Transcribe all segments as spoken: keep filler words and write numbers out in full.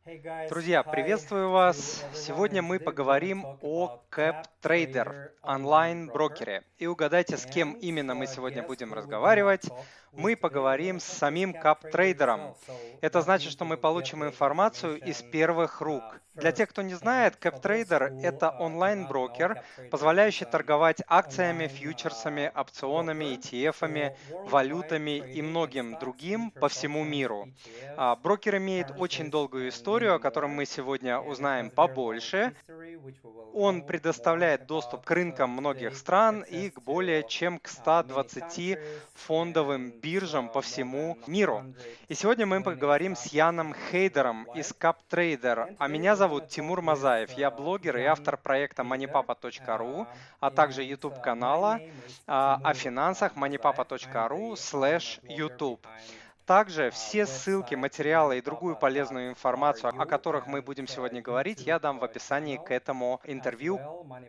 Друзья, приветствую вас! Сегодня мы поговорим о CapTrader, онлайн-брокере. И угадайте, с кем именно мы сегодня будем разговаривать. Мы поговорим с самим CapTrader. Это значит, что мы получим информацию из первых рук. Для тех, кто не знает, CapTrader– это онлайн-брокер, позволяющий торговать акциями, фьючерсами, опционами, и ти эф-ами, валютами и многим другим по всему миру. А, Брокер имеет очень долгую историю, о которой мы сегодня узнаем побольше. Он предоставляет доступ к рынкам многих стран и к более чем к ста двадцати фондовым биржам по всему миру. И сегодня мы поговорим с Яном Хейдером из CapTrader. А меня зовут Тимур Мазаев. Я блогер и автор проекта moneypapa точка ру, а также YouTube-канала а, о финансах moneypapa точка ру слэш YouTube. Также все ссылки, материалы и другую полезную информацию, о которых мы будем сегодня говорить, я дам в описании к этому интервью.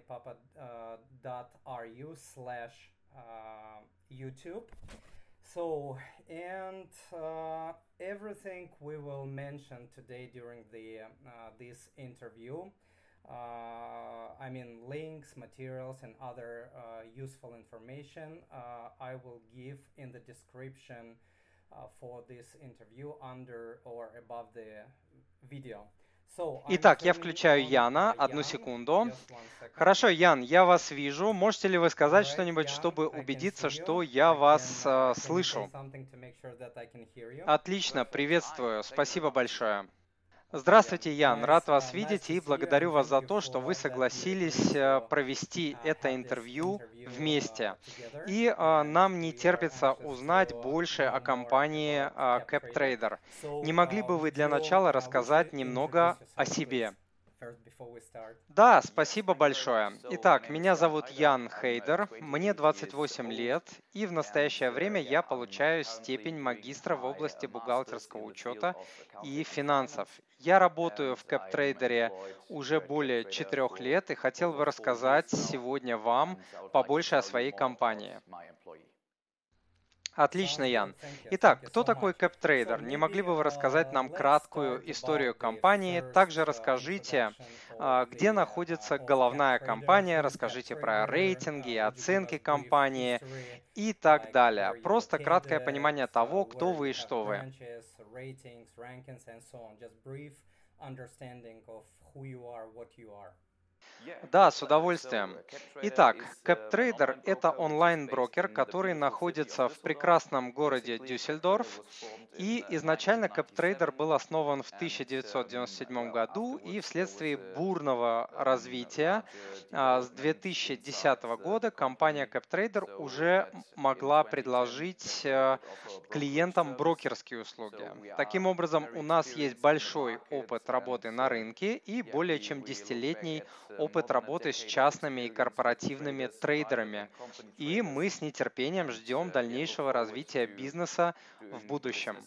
So, and uh, everything we will mention today during the uh, this interview, uh, I mean links, materials, and other uh, useful information, uh, I will give in the description uh, for this interview under or above the video. Итак, я включаю Яна. Одну секунду. Хорошо, Ян, я вас вижу. Можете ли вы сказать что-нибудь, чтобы убедиться, что я вас э, слышу? Отлично, приветствую. Спасибо большое. Здравствуйте, Ян. Рад вас видеть и благодарю вас за то, что вы согласились э, провести это интервью вместе. И э, нам не терпится узнать больше о компании э, CapTrader. Не могли бы вы для начала рассказать немного о себе? Да, спасибо большое. Итак, меня зовут Ян Хейдер, мне двадцать восемь лет, и в настоящее время я получаю степень магистра в области бухгалтерского учета и финансов. Я работаю в CapTrader уже более четырех лет и хотел бы рассказать сегодня вам побольше о своей компании. Отлично, Ян. Итак, кто такой CapTrader? Не могли бы вы рассказать нам краткую историю компании? Также расскажите, а, где находится головная компания, расскажите про рейтинги и оценки компании и так далее. Просто краткое понимание того, кто вы и что вы. Да, с удовольствием. Итак, CapTrader– это онлайн-брокер, который находится в прекрасном городе Дюссельдорф. И изначально CapTrader был основан в тысяча девятьсот девяносто седьмом году, и вследствие бурного развития а, с две тысячи десятого года компания CapTrader уже могла предложить а, клиентам брокерские услуги. Таким образом, у нас есть большой опыт работы на рынке и более чем десятилетний опыт работы с частными и корпоративными трейдерами, и мы с нетерпением ждем дальнейшего развития бизнеса в будущем.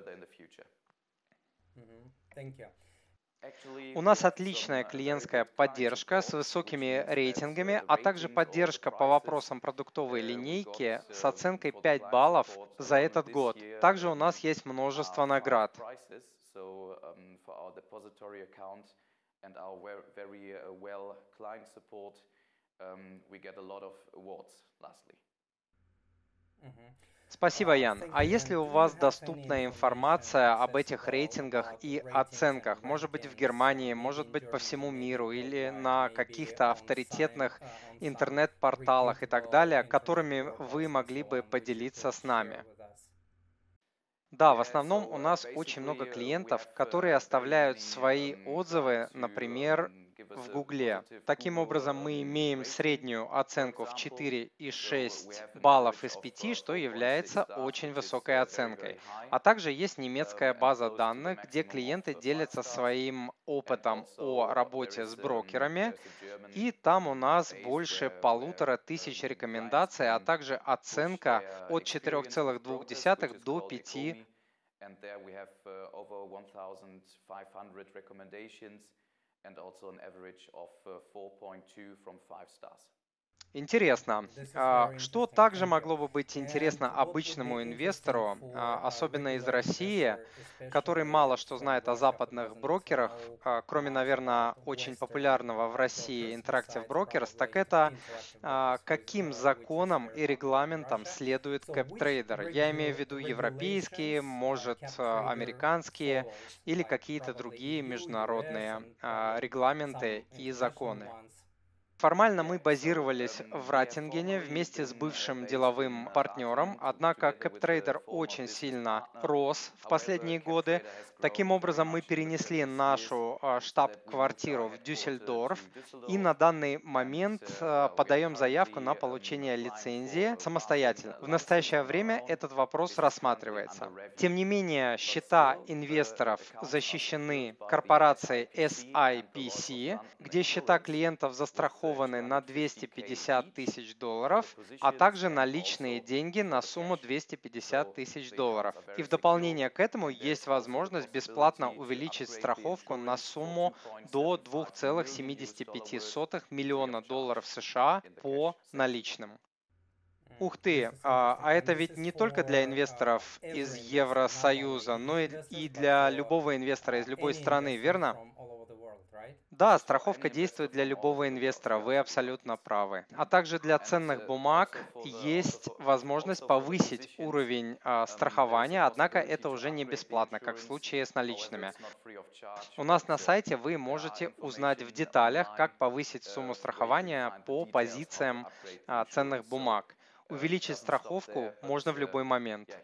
У нас отличная клиентская поддержка с высокими рейтингами, а также поддержка по вопросам продуктовой линейки с оценкой пять баллов за этот год. Также у нас есть множество наград. And our very uh, well client support, um, we get a lot of awards lastly. Спасибо, Ян. А если у вас доступная информация об этих рейтингах и оценках, может быть в Германии, может быть по всему миру или на каких-то авторитетных интернет-порталах и так далее, которыми вы могли бы поделиться с нами? Да, в основном у нас очень много клиентов, которые оставляют свои отзывы, например, в Гугле. Таким образом, мы имеем среднюю оценку в четыре и шесть баллов из пяти, что является очень высокой оценкой. А также есть немецкая база данных, где клиенты делятся своим опытом о работе с брокерами, и там у нас больше полутора тысяч рекомендаций, а также оценка от четырёх целых двух десятых до пяти. And there we have uh, over one thousand five hundred recommendations and also an average of uh, four point two from five stars. Интересно. А, Что также могло бы быть интересно обычному инвестору, а, особенно из России, который мало что знает о западных брокерах, а, кроме, наверное, очень популярного в России Interactive Brokers, так это а, каким законам и регламентам следует CapTrader? Я имею в виду европейские, может, а, американские или какие-то другие международные а, регламенты и законы. Формально мы базировались в Ратингене вместе с бывшим деловым партнером, однако CapTrader очень сильно рос в последние годы. Таким образом, мы перенесли нашу а, штаб-квартиру в Дюссельдорф и на данный момент а, подаем заявку на получение лицензии самостоятельно. В настоящее время этот вопрос рассматривается. Тем не менее, счета инвесторов защищены корпорацией эс ай пи си, где счета клиентов застрахованы на двести пятьдесят тысяч долларов, а также наличные деньги на сумму двести пятьдесят тысяч долларов. И в дополнение к этому есть возможность бесплатно увеличить страховку на сумму до два целых семьдесят пять сотых миллиона долларов США по наличным. Ух ты, а, а это ведь не только для инвесторов из Евросоюза, но и и для любого инвестора из любой страны, верно? Да, страховка действует для любого инвестора, вы абсолютно правы. А также для ценных бумаг есть возможность повысить уровень а, страхования, однако это уже не бесплатно, как в случае с наличными. У нас на сайте вы можете узнать в деталях, как повысить сумму страхования по позициям а, ценных бумаг. Увеличить страховку можно в любой момент.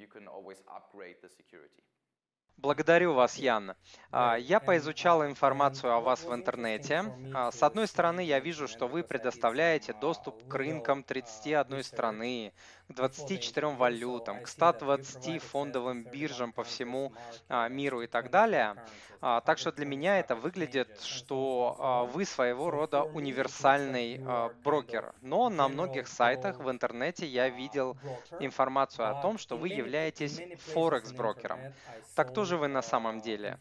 Благодарю вас, Ян. А, Я поизучал информацию о вас в интернете. А, С одной стороны, я вижу, что вы предоставляете доступ к рынкам тридцати одной страны, к двадцати четырем валютам, к ста двадцати фондовым биржам по всему а, миру и так далее. А, Так что для меня это выглядит, что а, вы своего рода универсальный а, брокер. Но на многих сайтах в интернете я видел информацию о том, что вы являетесь Форекс-брокером. Так кто же вы на самом деле?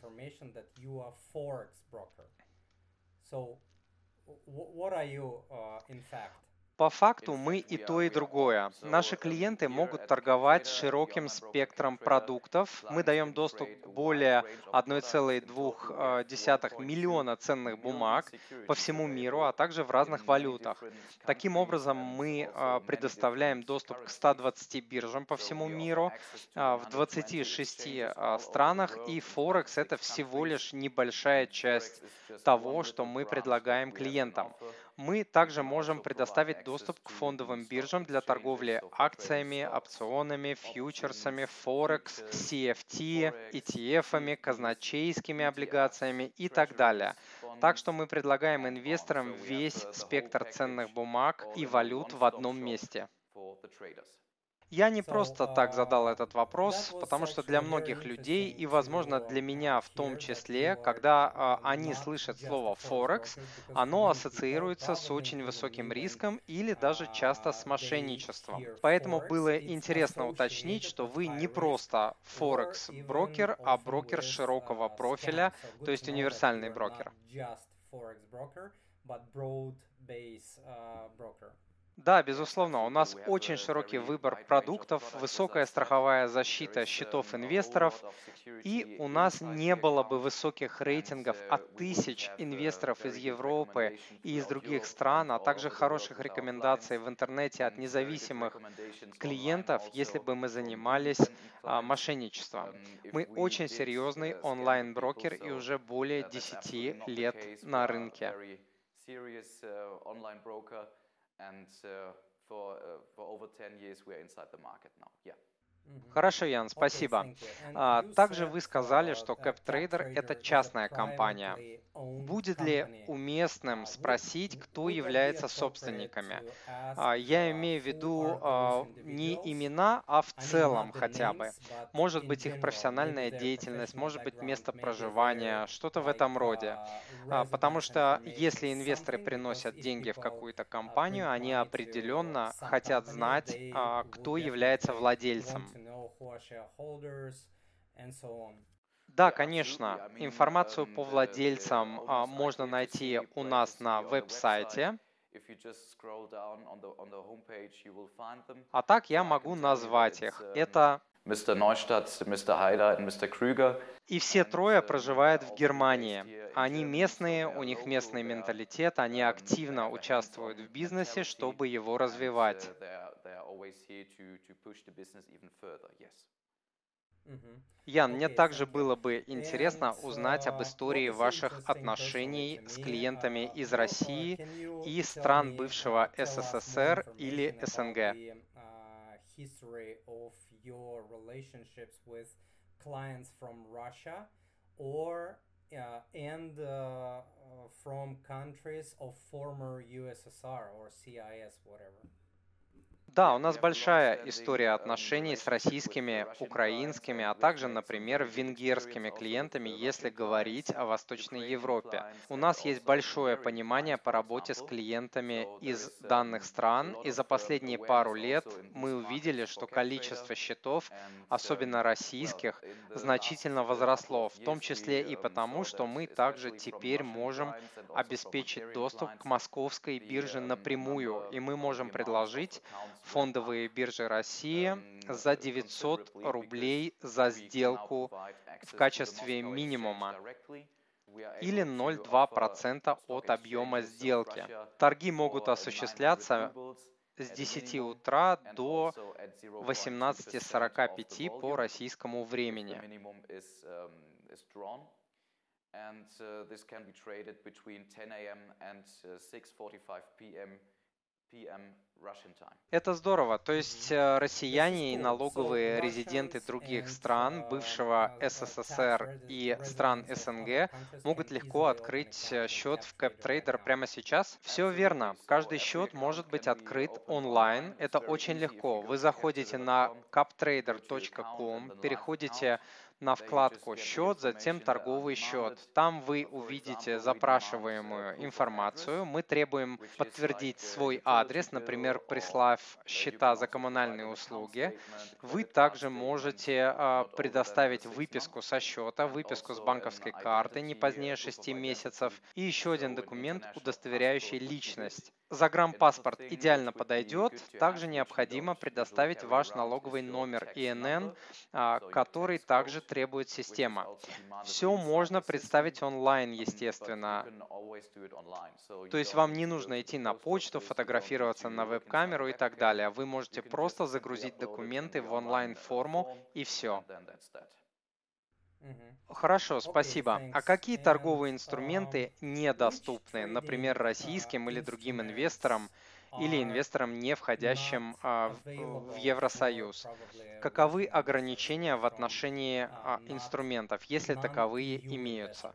По факту мы и то, и другое. Наши клиенты могут торговать широким спектром продуктов. Мы даем доступ к более одного целого двух десятых миллиона ценных бумаг по всему миру, а также в разных валютах. Таким образом, мы а, предоставляем доступ к ста двадцати биржам по всему миру, а, в двадцати шести а, странах, и Форекс — это всего лишь небольшая часть того, что мы предлагаем клиентам. Мы также можем предоставить доступ к фондовым биржам для торговли акциями, опционами, фьючерсами, Форекс, си эф ти, и ти эф-ами, казначейскими облигациями и так далее. Так что мы предлагаем инвесторам весь спектр ценных бумаг и валют в одном месте. Я не просто так задал этот вопрос, потому что для многих людей, и, возможно, для меня в том числе, когда а, они слышат слово «форекс», оно ассоциируется с очень высоким риском или даже часто с мошенничеством. Поэтому было интересно уточнить, что вы не просто Форекс-брокер, а брокер широкого профиля, то есть универсальный брокер. Да, безусловно, у нас очень широкий выбор продуктов, высокая страховая защита счетов инвесторов, и у нас не было бы высоких рейтингов от тысяч инвесторов из Европы и из других стран, а также хороших рекомендаций в интернете от независимых клиентов, если бы мы занимались а, мошенничеством. Мы очень серьезный онлайн-брокер и уже более десяти лет на рынке. Хорошо, Ян, спасибо. А, Также вы сказали, что CapTrader — это частная компания. Будет ли уместным спросить, кто является собственниками? А, Я имею в виду а, не имена, а в целом хотя бы. Может быть, их профессиональная деятельность, может быть, место проживания, что-то в этом роде. А, Потому что если инвесторы приносят деньги в какую-то компанию, они определенно хотят знать, а, кто является владельцем. Да, конечно. Информацию по владельцам а, можно найти у нас на веб-сайте. А так я могу назвать их. Это мистер Neustadt, мистер Heider и мистер Krüger. И все трое проживают в Германии. Они местные, у них местный менталитет, они активно участвуют в бизнесе, чтобы его развивать. Ян, мне также было бы интересно узнать об истории ваших отношений с клиентами из России и стран бывшего СССР или СНГ. Clients from Russia or uh, and uh, from countries of former U S S R or C I S, whatever. Да, у нас большая история отношений с российскими, украинскими, а также, например, венгерскими клиентами, если говорить о Восточной Европе. У нас есть большое понимание по работе с клиентами из данных стран, и за последние пару лет мы увидели, что количество счетов, особенно российских, значительно возросло, в том числе и потому, что мы также теперь можем обеспечить доступ к московской бирже напрямую, и мы можем предложить фондовые биржи России за девятьсот рублей за сделку в качестве минимума или ноль целых две десятых процента от объема сделки. Торги могут осуществляться с десяти утра до восемнадцати сорока пяти по российскому времени. Это здорово. То есть россияне и налоговые резиденты других стран, бывшего СССР и стран СНГ могут легко открыть счет в CapTrader прямо сейчас? Все верно. Каждый счет может быть открыт онлайн. Это очень легко. Вы заходите на captrader точка ком, переходите на вкладку «Счет», затем «Торговый счет». Там вы увидите запрашиваемую информацию. Мы требуем подтвердить свой адрес, например, прислав счета за коммунальные услуги. Вы также можете э, предоставить выписку со счета, выписку с банковской карты не позднее шести месяцев и еще один документ, удостоверяющий личность. Загранпаспорт идеально подойдет. Также необходимо предоставить ваш налоговый номер И Н Н, который также требует система. Все можно представить онлайн, естественно. То есть вам не нужно идти на почту, фотографироваться на веб-камеру и так далее. Вы можете просто загрузить документы в онлайн-форму и все. Хорошо, спасибо. А какие торговые инструменты недоступны, например, российским или другим инвесторам, или инвесторам, не входящим а, в, в Евросоюз? Каковы ограничения в отношении а, инструментов, если таковые имеются?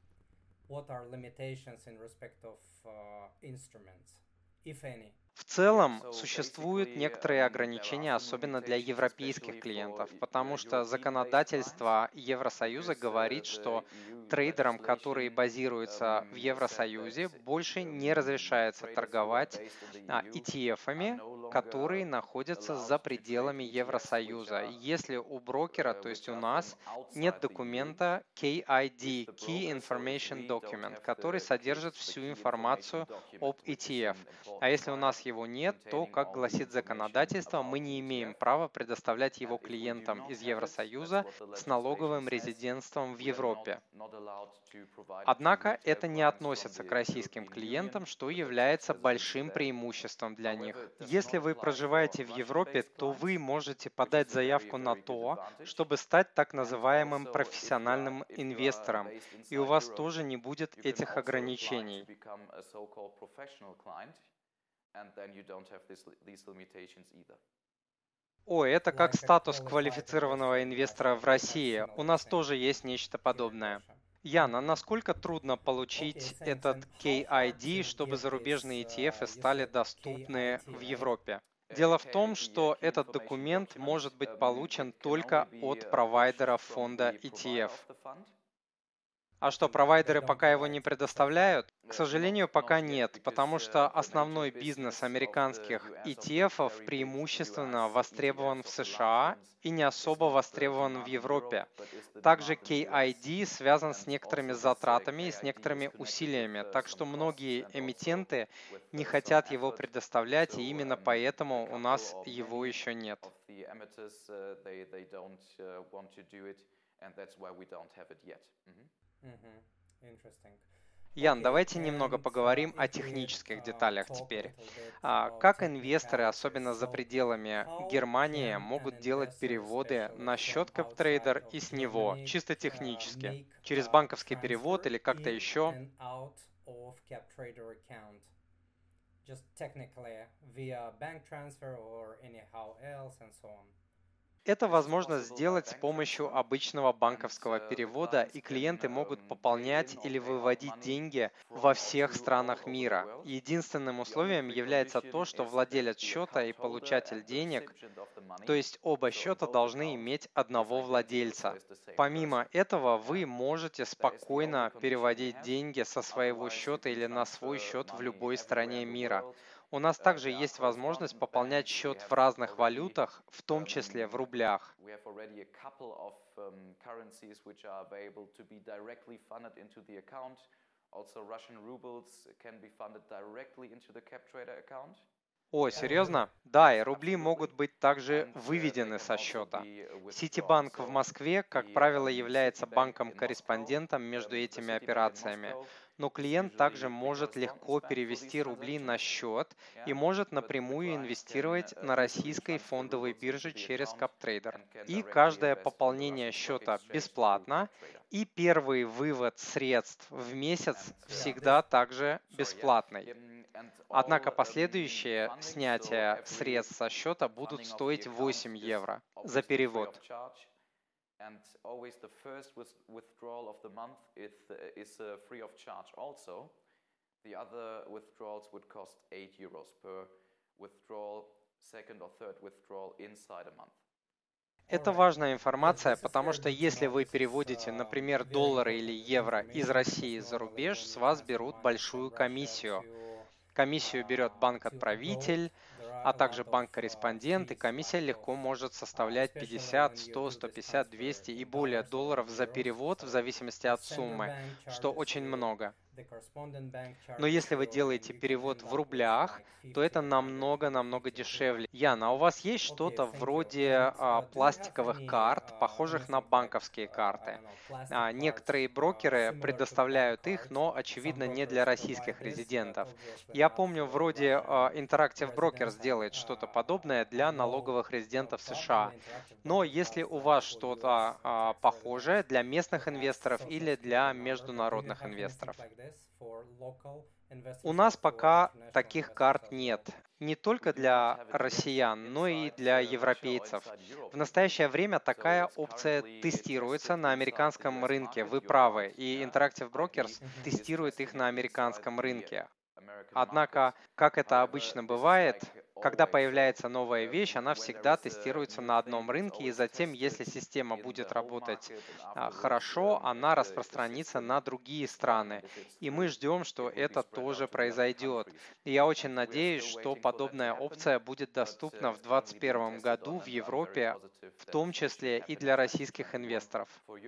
В целом, существуют некоторые ограничения, особенно для европейских клиентов, потому что законодательство Евросоюза говорит, что трейдерам, которые базируются в Евросоюзе, больше не разрешается торговать И Ти Эф-ами, которые находятся за пределами Евросоюза. Если у брокера, то есть у нас, нет документа кей ай ди, Key Information Document, который содержит всю информацию об И Ти Эф. А если у нас его нет, то, как гласит законодательство, мы не имеем права предоставлять его клиентам из Евросоюза с налоговым резидентством в Европе. Однако это не относится к российским клиентам, что является большим преимуществом для них. Если вы проживаете в Европе, то вы можете подать заявку на то, чтобы стать так называемым профессиональным инвестором, и у вас тоже не будет этих ограничений. О, это как статус квалифицированного инвестора в России. У нас тоже есть нечто подобное. Ян, а насколько трудно получить этот кей ай ди, чтобы зарубежные И Ти Эфы стали доступны в Европе? Дело в том, что этот документ может быть получен только от провайдера фонда И Ти Эф. А что, провайдеры пока его не предоставляют? К сожалению, пока нет, потому что основной бизнес американских и ти эф-ов преимущественно востребован в США и не особо востребован в Европе. Также кей ай ди связан с некоторыми затратами и с некоторыми усилиями, так что многие эмитенты не хотят его предоставлять, и именно поэтому у нас его еще нет. Ян, Okay, давайте немного and uh, поговорим о if we технических uh, деталях talk a теперь. little bit А, about Как инвесторы, technicalities, особенно за so пределами how Германии, can an могут делать investor, переводы especially на from счет outside CapTrader of и с него, Germany, чисто uh, технически, make через a банковский перевод transfer или как-то in еще? and out of CapTrader account? Just technically via bank transfer or anyhow else and so on. Это возможно сделать с помощью обычного банковского перевода, и клиенты могут пополнять или выводить деньги во всех странах мира. Единственным условием является то, что владелец счета и получатель денег, то есть оба счета, должны иметь одного владельца. Помимо этого, вы можете спокойно переводить деньги со своего счета или на свой счет в любой стране мира. У нас также есть возможность пополнять счет в разных валютах, в том числе в рублях. We have already a couple of um, currencies which are available to be directly funded into the account. Also, Russian rubles can be funded directly into the CapTrader account. О, Oh, really? серьезно? Да, и рубли могут быть также выведены со счета. Ситибанк в Москве, как правило, является банком-корреспондентом между этими операциями, но клиент также может легко перевести рубли на счет и может напрямую инвестировать на российской фондовой бирже через CapTrader. И каждое пополнение счета бесплатно, и первый вывод средств в месяц всегда также бесплатный. Однако последующие снятия средств со счета будут стоить восемь евро за перевод. And always the first withdrawal of the month is, is uh, free of charge also. The other withdrawals would cost eight euros per withdrawal, second or third withdrawal inside a month. Это важная информация, потому что если вы переводите, например, доллары или евро из России за рубеж, с вас берут большую комиссию. Комиссию берет банк-отправитель, а также банк-корреспондент, и комиссия легко может составлять пятьдесят, сто, сто пятьдесят, двести и более долларов за перевод в зависимости от суммы, что очень много. Но если вы делаете перевод в рублях, то это намного-намного дешевле. Яна, а у вас есть что-то вроде а, пластиковых карт, похожих на банковские карты? А, некоторые брокеры предоставляют их, но, очевидно, не для российских резидентов. Я помню, вроде а, Interactive Brokers делает что-то подобное для налоговых резидентов США. Но если у вас что-то а, похожее для местных инвесторов или для международных инвесторов? У нас пока таких карт нет. Не только для россиян, но и для европейцев. В настоящее время такая опция тестируется на американском рынке. Вы правы, и Interactive Brokers тестирует их на американском рынке. Однако, как это обычно бывает, когда появляется новая вещь, она всегда тестируется на одном рынке, и затем, если система будет работать а, хорошо, она распространится на другие страны. И мы ждем, что это тоже произойдет. И я очень надеюсь, что подобная опция будет доступна в две тысячи двадцать первом году в Европе, в том числе и для российских инвесторов.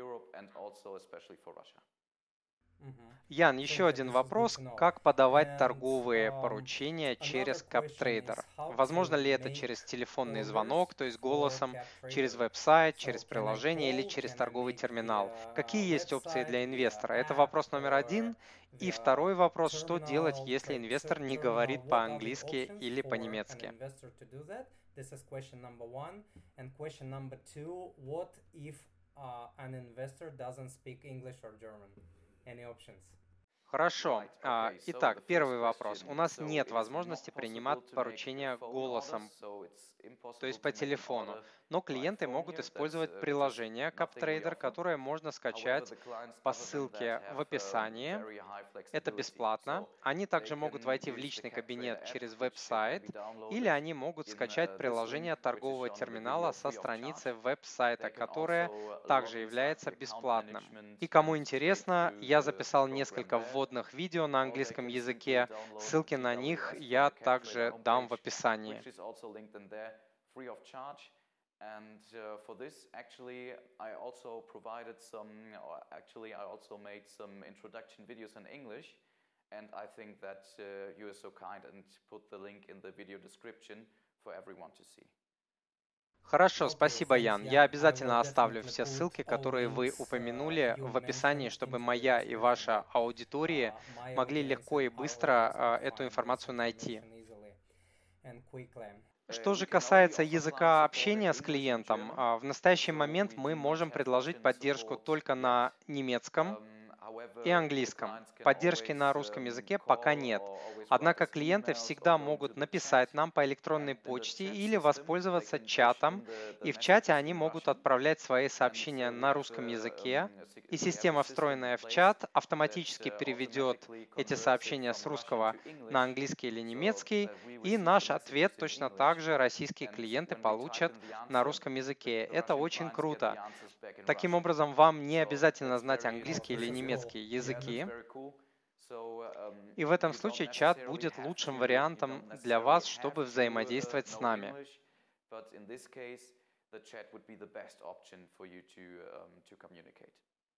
Ян, еще один вопрос. Как подавать торговые поручения через CapTrader? Возможно ли это через телефонный звонок, то есть голосом, через веб-сайт, через приложение или через торговый терминал? Какие есть опции для инвестора? Это вопрос номер один. И второй вопрос, что делать, если инвестор не говорит по-английски или по-немецки? Uh, an investor doesn't speak English or German. Any options? Хорошо. Right. А, Okay. So Итак, the first первый вопрос. question. У нас So нет it is not возможности принимать possible to make поручения phone orders. голосом, So it's то impossible есть по to make an телефону, order но by клиенты phone могут here. That's использовать uh, just приложение nothing we CapTrader, offer. которое можно However, скачать the clients, по other than that, ссылке в have um, описании. very high Это flexibility. бесплатно. So Они they также могут can войти в use the личный CapTrader кабинет app, через which uh, can веб-сайт, be или downloaded они могут in скачать uh, this link, приложение which is торгового shown in the терминала video, со free of charge. страницы веб-сайта, They can которое also log также inside является the account бесплатным. management И кому and trade интересно, through я the записал program несколько there, вводных видео на or they английском can simply языке. download Ссылки the на них W S from я the CapTrader также дам в homepage, описании. which is also linked in there, free of charge. And uh, for this, actually, I also provided some, or actually, I also made some introduction videos in English. And I think that uh, you are so kind and put the link in the video description for everyone to see. Хорошо, Okay, спасибо, thanks, Ян. Jan. Я I обязательно will оставлю definitely все put ссылки, all которые вы links uh, упомянули, you в описании, mentioned чтобы into the моя и description ваша that аудитория uh, my могли audience легко и and our быстро audience а, can эту find this информацию найти. information easily and quickly. Что Uh, же we can only касается offer client языка support in общения с English and клиентом, German. а, в настоящий So момент we мы do not можем have предложить Russian поддержку support только yet. на немецком Um, и however, the английском. clients can Поддержки always на русском um, языке пока call нет. or always write Однако us клиенты emails or всегда go into могут the написать chat. нам по электронной And in the почте chat или system, they воспользоваться can push чатом, in the, the и в чате messages они in могут Russian. отправлять свои And сообщения uh, we на have русском a, языке, um, a sig- и we have a система, system встроенная in в place чат, that автоматически uh, переведет automatically эти converts it сообщения from с Russian русского to на English. английский или So немецкий, that we и receive the наш messages ответ in точно English. так же российские And клиенты when we type получат in the на answer, русском the, языке. the Это Russian очень clients get круто. the answers back in Таким Russian. образом, вам не So обязательно that's знать very английский или This is beneficial. немецкий cool. Yeah, that's языки. very cool. So um, И в этом you don't случае чат necessarily будет have лучшим to, you вариантом don't для necessarily вас, have чтобы to uh, взаимодействовать с know нами. English, but in this case, the chat would be the best option for you to um, to communicate.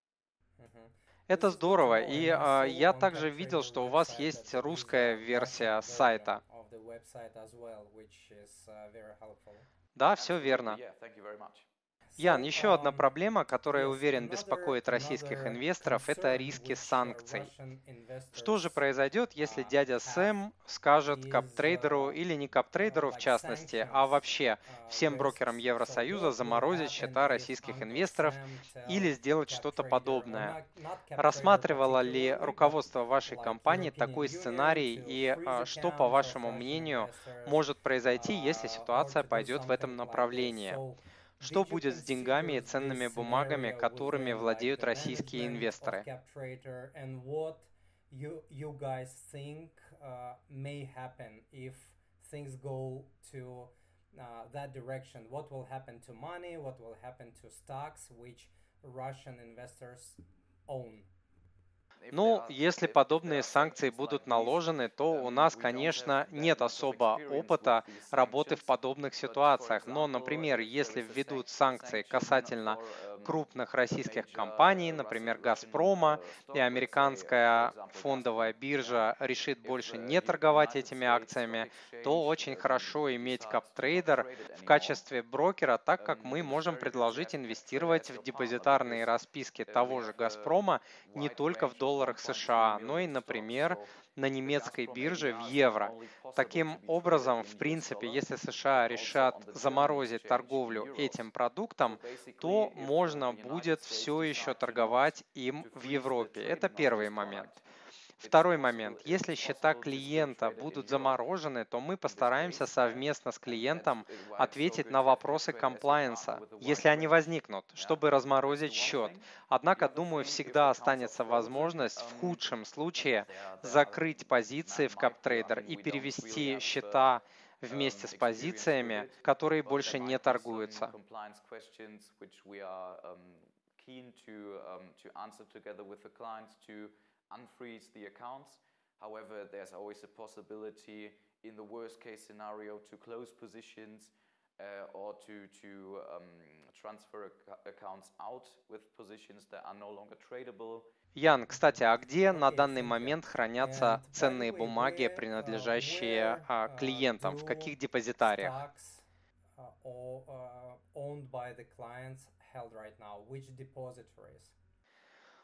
Mhm. Это This is good to здорово. know, И and I а, saw я on также видел, CapTrader что у вас website есть that there is русская a версия Russian сайта. version of the website as well, which is uh, very helpful. Да, все Absolutely, верно. yeah. Thank you very much. Ян, So, еще одна um, проблема, которая, yes, уверен, another беспокоит российских another инвесторов, это concern риски which uh, санкций. Russian Что же investors произойдет, если uh, дядя have Сэм скажет is каптрейдеру uh, или не uh, каптрейдеру в like частности, а sanctions вообще uh, всем брокерам risks. So Евросоюза what will заморозить happen счета if российских Uncle инвесторов Sam или tell сделать что-то CapTrader, or подобное? not, not CapTrader Рассматривало ли particularly, but руководство вашей like компании European такой Union сценарий to и freeze а, что, по accounts of вашему Russian мнению, investors может произойти, если uh, or ситуация to do пойдет в этом something like this? направлении? So Что did you будет с деньгами и consider ценными this бумагами, scenario которыми within like владеют the российские management of инвесторы? CapTrader, and what you you guys think uh, may happen if things go to uh, that direction? What will happen to money? What will happen to stocks which Russian investors own? If there Ну, are, если if, if there подобные are санкции sanctions будут like these, наложены, то у um, нас, we don't have конечно, that нет much of особо experience with опыта these работы в sanctions. подобных But, for ситуациях. Но, example, например, if there если is a введут sanc- санкции sanction касательно for um, крупных a российских major компаний, uh, например, Russian, Russian Газпрома, uh, и stock, let's say, uh, for американская example, фондовая Gazprom, yeah. биржа решит If больше uh, не U- торговать United этими States Stock акциями, Exchange то очень um, хорошо иметь decides to not каптрейдер trade it в anymore, качестве брокера, так как um, мы it is можем very good to предложить have CapTrader инвестировать as в your partner депозитарные because расписки uh, we того же have a Газпрома не wide только в range of долларах one point two США, но и, million stocks. например, So на the немецкой Gazprom бирже в A D R is not евро. only possible to Таким be traded образом, in в U S принципе, dollar, если but США also решат on the German заморозить exchange in торговлю euros. этим So продуктом, basically, то if uh, можно the United будет States все еще decide to not торговать им to в freeze the Европе. Это trading of первый this момент. product, it's Второй possible момент. it's Если счета possible to still клиента trade it in будут Europe. заморожены, то мы In this постараемся case, yeah, совместно с and that's клиентом why it's so ответить good на to have вопросы CapTrader as your partner комплайенса, with a wide если они range. возникнут, Yeah, чтобы that's the разморозить one счет. thing. The Однако, other думаю, thing, if всегда accounts are останется frozen, возможность в um, худшем случае there, there are, закрыть позиции man в might be, I CapTrader mean, и we don't really перевести have uh, счета um, вместе с experience with позициями, it, которые but there больше не might be some торгуются. compliance questions which we are um, keen to um, to answer together with the clients to unfreeze the accounts. However, there's always a possibility in the worst case scenario to close positions uh, or to to um, transfer ac- accounts out with positions that are no longer tradable. Ян, кстати, а где на Okay, данный thank you. момент And хранятся by the ценные way, бумаги, where uh, принадлежащие where а, uh, клиентам? В do каких депозитариях? stocks uh, all, uh, owned by the clients held right now? Which depositories?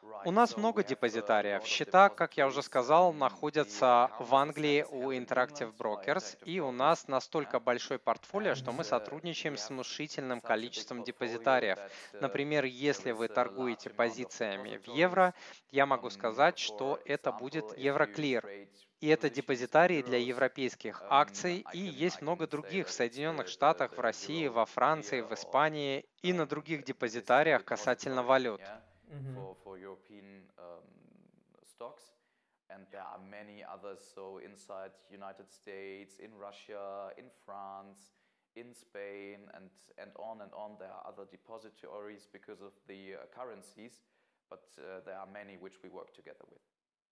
У нас много депозитариев. Счета, как я уже сказал, находятся в Англии у Interactive Brokers, и у нас настолько большой портфолио, что мы сотрудничаем с внушительным количеством депозитариев. Например, если вы торгуете позициями в евро, я могу сказать, что это будет Euroclear. И это депозитарии для европейских акций, и есть много других в Соединенных Штатах, в России, во Франции, в Испании и на других депозитариях касательно валют. Mhm. for, for European um, stocks, and there are many others. So inside United States, in Russia, in France, in Spain, and and on and on. There are other depositories because of the uh, currencies, but uh, there are many which we work together with.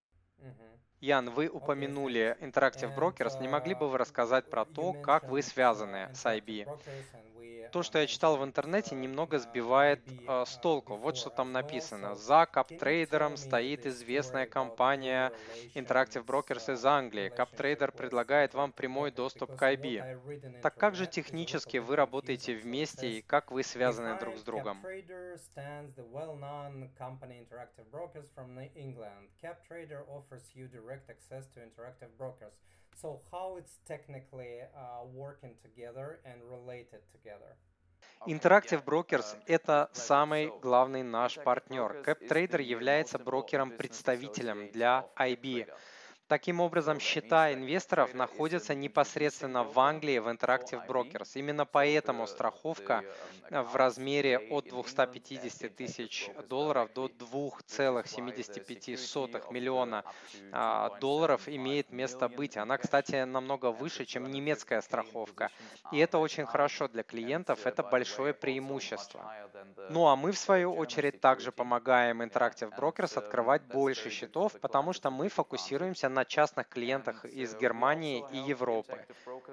Mhm. Ян, вы Okay, упомянули thanks. Interactive And Brokers. Не могли бы uh, вы рассказать про you то, как вы mentioned связаны uh, с ай би? Interactive Brokers, and we То, uh, что я читал в mentioned интернете, uh, немного uh, сбивает I B э, с uh, толку. Вот что before там as well. написано. So За can you tell каптрейдером me стоит the известная story about your компания Interactive relations, Brokers из uh, Англии. relationship Каптрейдер with предлагает вам Interactive прямой Brokers? доступ Because к what ай би. I read in Так как же internet is a технически little вы bit работаете confusing. So it вместе и says как вы связаны друг с behind другом? CapTrader stands the well-known company Interactive Brokers from Ne- England. CapTrader offers you direct access to Interactive Brokers. So how it's technically uh, working together and related together? Interactive Brokers– это самый главный наш партнер. CapTrader является брокером-представителем для ай би. Таким образом, счета инвесторов находятся непосредственно в Англии в Interactive Brokers. Именно поэтому страховка в размере от двухсот пятидесяти тысяч долларов до двух целых семидесяти пяти сотых миллиона а, долларов имеет место быть. Она, кстати, намного выше, чем немецкая страховка. И это очень хорошо для клиентов, это большое преимущество. Ну а мы, в свою очередь, также помогаем Interactive Brokers открывать больше счетов, потому что мы фокусируемся на частных клиентах из Германии и Европы.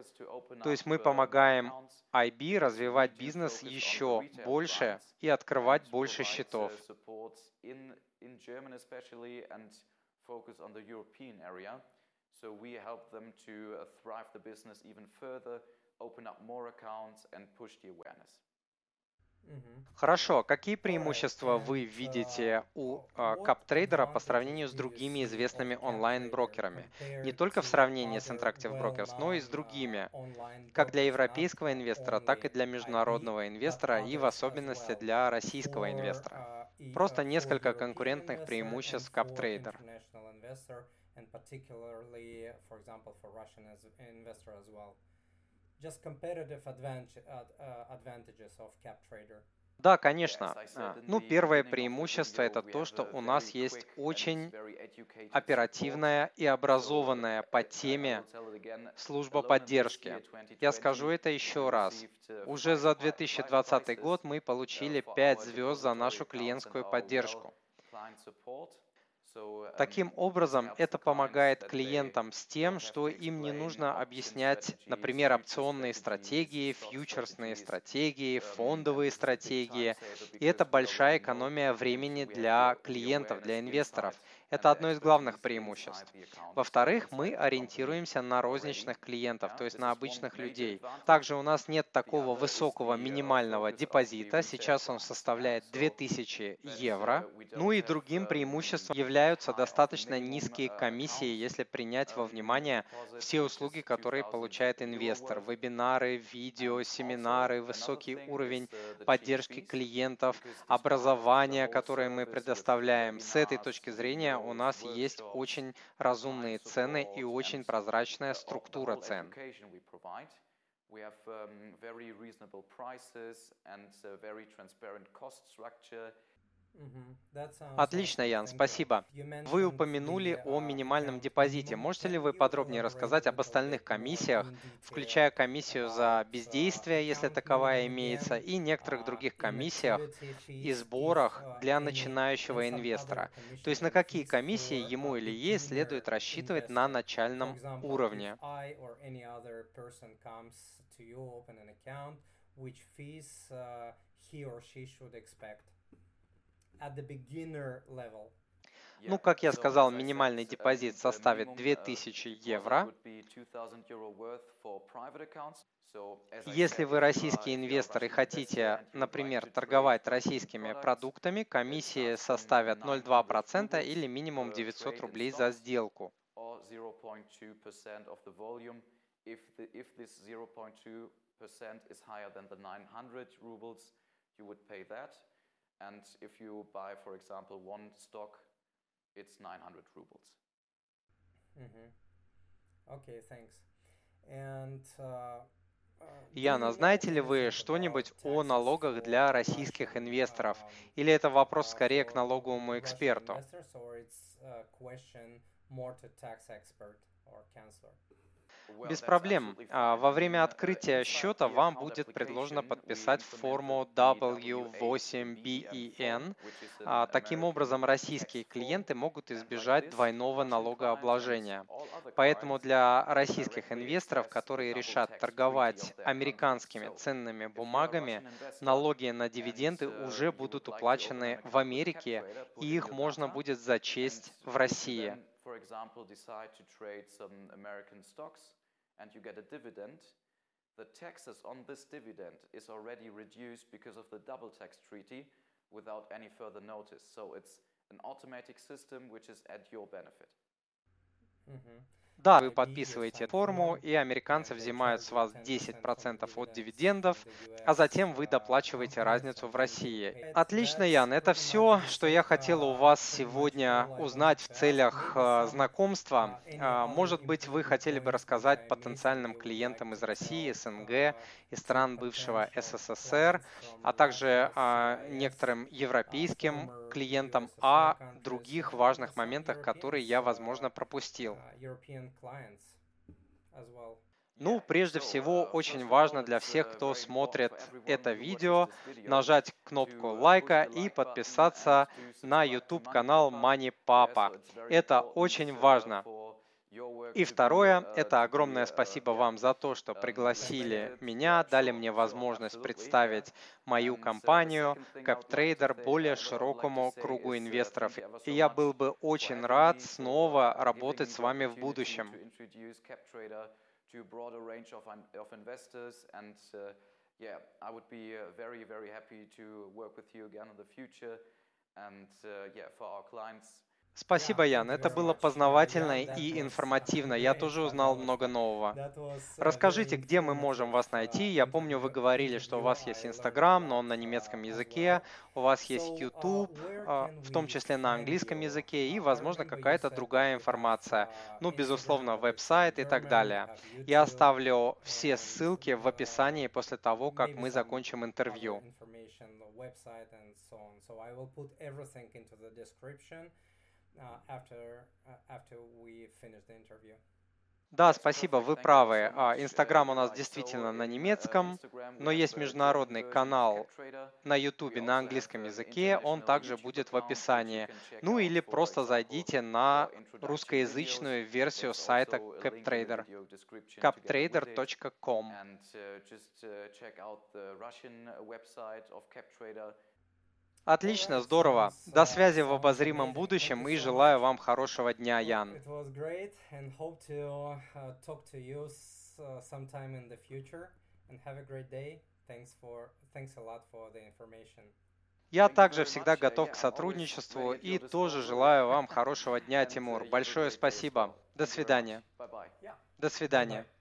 То есть мы помогаем ай би развивать бизнес еще больше и открывать больше счетов. So we help them to uh, thrive the business even further, open up more accounts and push the awareness. Хорошо. Какие преимущества вы видите у CapTrader по сравнению с другими известными онлайн-брокерами? Не только в сравнении с Interactive Brokers, но и с другими, как для европейского инвестора, так и для международного инвестора и в особенности для российского инвестора. Просто несколько конкурентных преимуществ CapTrader. Just competitive advantage, uh, advantages of CapTrader. Да, конечно. Ну, первое преимущество – это то, что у нас есть очень оперативная и образованная по теме служба поддержки. Я скажу это еще раз. Уже за две тысячи двадцатый год мы получили пять звезд за нашу клиентскую поддержку. Таким образом, это помогает клиентам с тем, что им не нужно объяснять, например, опционные стратегии, фьючерсные стратегии, фондовые стратегии. И это большая экономия времени для клиентов, для инвесторов. Это одно из главных преимуществ. Во-вторых, мы ориентируемся на розничных клиентов, то есть на обычных людей. Также у нас нет такого высокого минимального депозита, сейчас он составляет две тысячи евро. Ну и другим преимуществом являются достаточно низкие комиссии, если принять во внимание все услуги, которые получает инвестор. Вебинары, видео, семинары, высокий уровень поддержки клиентов, образование, которое мы предоставляем. С этой точки зрения у нас есть очень разумные цены и очень прозрачная структура цен. We have um, very reasonable prices and a very transparent cost structure. Отлично, Ян, спасибо. Вы упомянули о минимальном депозите. Можете ли вы подробнее рассказать об остальных комиссиях, включая комиссию за бездействие, если таковая имеется, и некоторых других комиссиях и сборах для начинающего инвестора? То есть на какие комиссии ему или ей следует рассчитывать на начальном уровне? At the beginner level. Ну, как я сказал, минимальный депозит составит две тысячи евро. Если вы российский инвестор и хотите, например, торговать российскими продуктами, комиссии составят ноль целых две десятых процента или минимум девятьсот рублей за сделку. It's nine hundred rubles. Mm-hmm. Okay, thanks. And uh, uh, do Яна, you know знаете ли вы anything что-нибудь about о taxes налогах для for российских Russian инвесторов? um, Или это вопрос uh, скорее к for налоговому Russian эксперту? investors, or it's a question more to tax expert or counselor? Без проблем. А, Во время открытия счета вам будет предложено подписать форму дабл ю восемь би и эн. А, Таким образом, российские клиенты могут избежать двойного налогообложения. Поэтому для российских инвесторов, которые решат торговать американскими ценными бумагами, налоги на дивиденды уже будут уплачены в Америке, и их можно будет зачесть в России. And you get a dividend, the taxes on this dividend is already reduced because of the double tax treaty without any further notice. So it's an automatic system which is at your benefit. Mm-hmm. Да, вы подписываете форму, и американцы взимают с вас десять процентов от дивидендов, а затем вы доплачиваете разницу в России. Отлично, Ян, это все, что я хотела у вас сегодня узнать в целях э, знакомства. А, может быть, вы хотели бы рассказать потенциальным клиентам из России, СНГ и стран бывшего СССР, а также а, некоторым европейским клиентам о других важных моментах, которые я, возможно, пропустил. Ну, прежде всего, очень важно для всех, кто смотрит это видео, нажать кнопку лайка и подписаться на YouTube-канал Money Papa. Это очень важно. И второе, это огромное спасибо вам за то, что пригласили меня, дали мне возможность представить мою компанию CapTrader более широкому кругу инвесторов. И я был бы очень рад снова работать с вами в будущем. Спасибо, Ян. Это было познавательно и информативно. Я тоже узнал много нового. Расскажите, где мы можем вас найти? Я помню, вы говорили, что у вас есть Инстаграм, но он на немецком языке. У вас есть YouTube, в том числе на английском языке, и, возможно, какая-то другая информация. Ну, безусловно, веб-сайт и так далее. Я оставлю все ссылки в описании после того, как мы закончим интервью. Uh, after, uh, after we finish the interview. Да, спасибо, вы правы. Инстаграм у нас действительно на немецком, но есть международный канал на YouTube на английском языке, он также будет в описании. Ну или просто зайдите на русскоязычную версию сайта CapTrader, captrader точка ком. Отлично, здорово. До связи в обозримом будущем и желаю вам хорошего дня, Ян. Я также всегда готов к сотрудничеству и тоже желаю вам хорошего дня, Тимур. Большое спасибо. До свидания. До свидания.